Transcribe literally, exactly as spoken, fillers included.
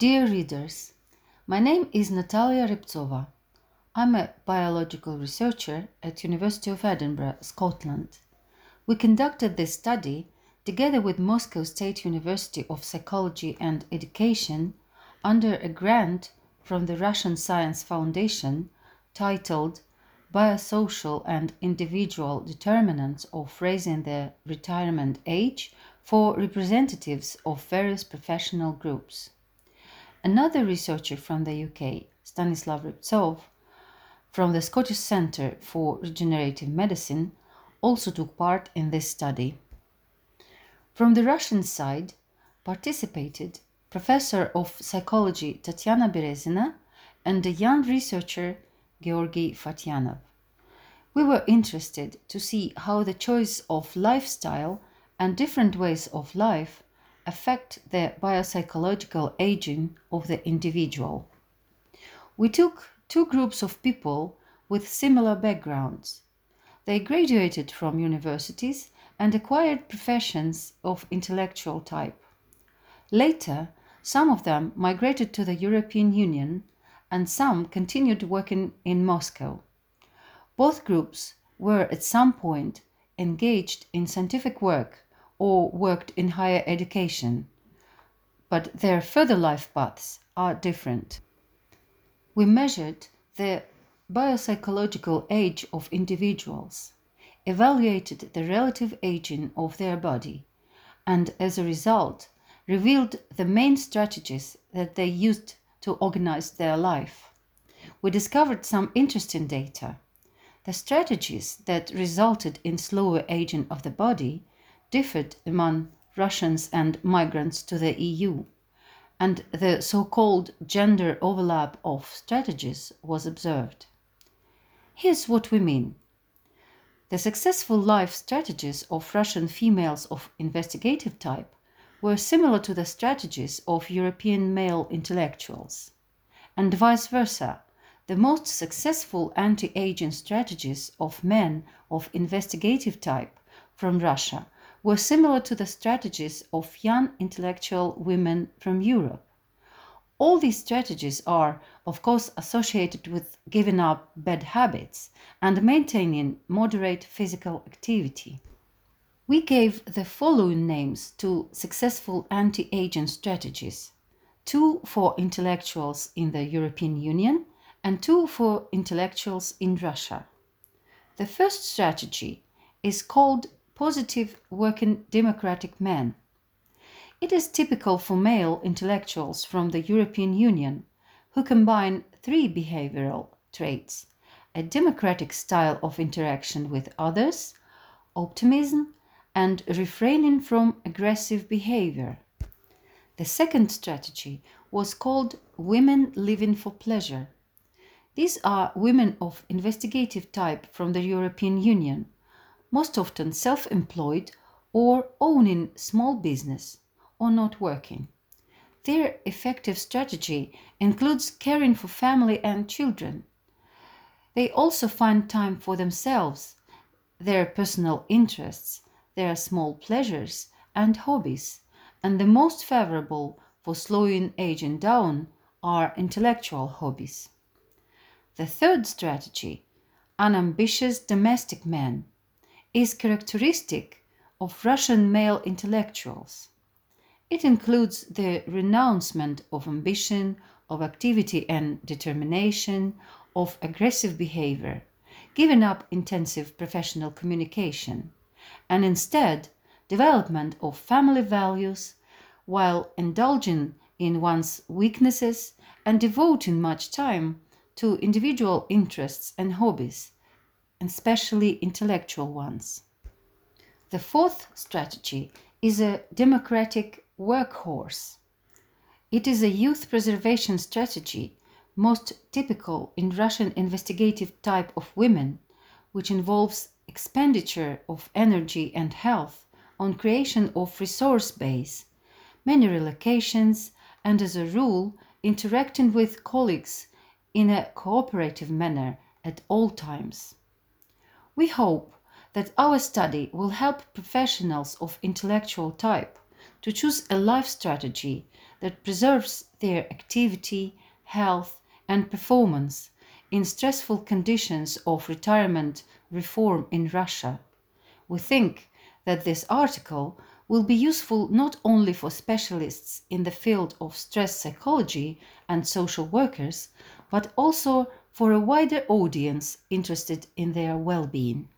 Dear readers, my name is Natalia Rybtsova. I'm a biological researcher at University of Edinburgh, Scotland. We conducted this study together with Moscow State University of Psychology and Education under a grant from the Russian Science Foundation titled Biosocial and Individual Determinants of Raising the Retirement Age for Representatives of Various Professional Groups. Another researcher from the U K, Stanislav Rybtsov, from the Scottish Centre for Regenerative Medicine, also took part in this study. From the Russian side, participated Professor of Psychology Tatiana Berezina and a young researcher Georgy Fatyanov. We were interested to see how the choice of lifestyle and different ways of life affect the biopsychological aging of the individual. We took two groups of people with similar backgrounds. They graduated from universities and acquired professions of intellectual type. Later, some of them migrated to the European Union and some continued working in Moscow. Both groups were at some point engaged in scientific work or worked in higher education, but their further life paths are different. We measured the biopsychological age of individuals, evaluated the relative aging of their body, and as a result, revealed the main strategies that they used to organize their life. We discovered some interesting data. The strategies that resulted in slower aging of the body differed among Russians and migrants to the E U, and the so-called gender overlap of strategies was observed. Here's what we mean. The successful life strategies of Russian females of investigative type were similar to the strategies of European male intellectuals, and vice versa. The most successful anti-aging strategies of men of investigative type from Russia were similar to the strategies of young intellectual women from Europe. All these strategies are, of course, associated with giving up bad habits and maintaining moderate physical activity. We gave the following names to successful anti-aging strategies: two for intellectuals in the European Union and two for intellectuals in Russia. The first strategy is called Positive Working Democratic Man. It is typical for male intellectuals from the European Union who combine three behavioral traits: a democratic style of interaction with others, optimism, and refraining from aggressive behavior. The second strategy was called Women Living for Pleasure. These are women of investigative type from the European Union, most often self-employed or owning small business or not working. Their effective strategy includes caring for family and children. They also find time for themselves, their personal interests, their small pleasures and hobbies, and the most favorable for slowing aging down are intellectual hobbies. The third strategy, Unambitious Domestic Man, is characteristic of Russian male intellectuals. It includes the renouncement of ambition, of activity and determination, of aggressive behavior, giving up intensive professional communication, and instead development of family values while indulging in one's weaknesses and devoting much time to individual interests and hobbies, especially intellectual ones. The fourth strategy is a democratic workhorse. It is a youth preservation strategy most typical in Russian investigative type of women, which involves expenditure of energy and health on creation of resource base, many relocations, and as a rule, interacting with colleagues in a cooperative manner at all times. We hope that our study will help professionals of intellectual type to choose a life strategy that preserves their activity, health, and performance in stressful conditions of retirement reform in Russia. We think that this article will be useful not only for specialists in the field of stress psychology and social workers, but also for a wider audience interested in their well-being.